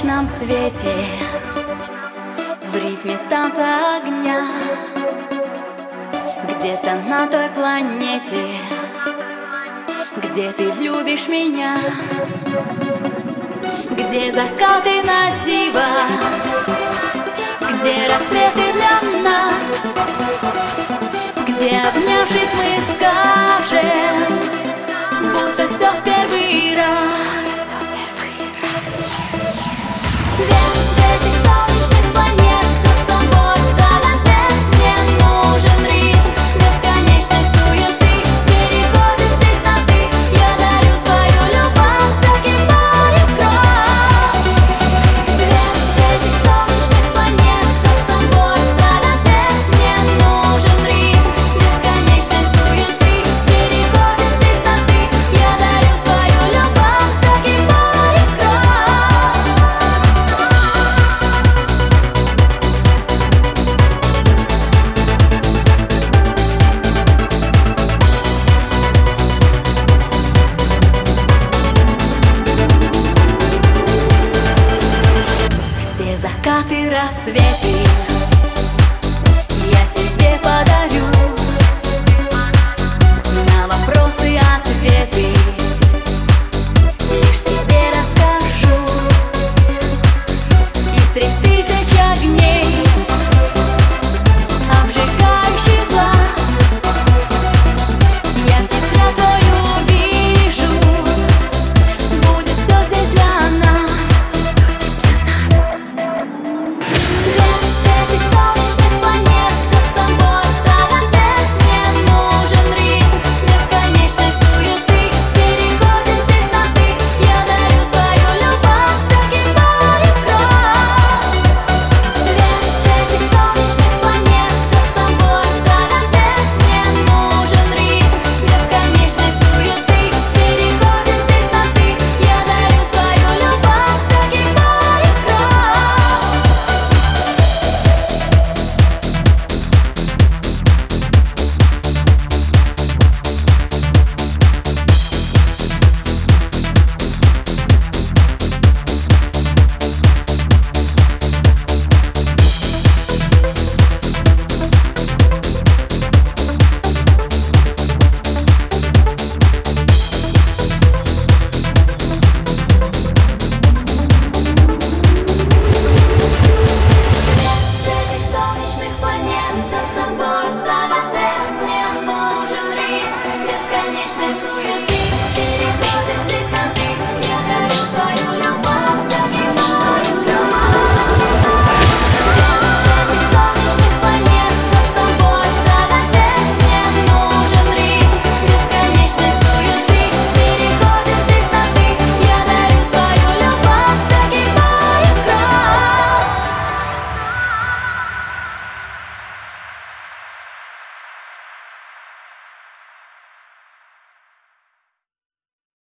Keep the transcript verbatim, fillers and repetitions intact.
солнечном свете, в ритме танца огня, где-то на той планете, где ты любишь меня, где закаты на диво, где рассветы для нас, где, обнявшись, мы скажем, будто все в первый раз. Свет этих солнечных планет с собой ставит след. Мне нужен ритм бесконечной суеты, переходы здесь на ты. Я дарю свою любовь, закипает кровь. Свет этих солнечных планет с собой ставит след. Мне нужен ритм бесконечной суеты, переходы здесь на ты. Я дарю свою любовь, закипает кровь. Все закаты, рассветы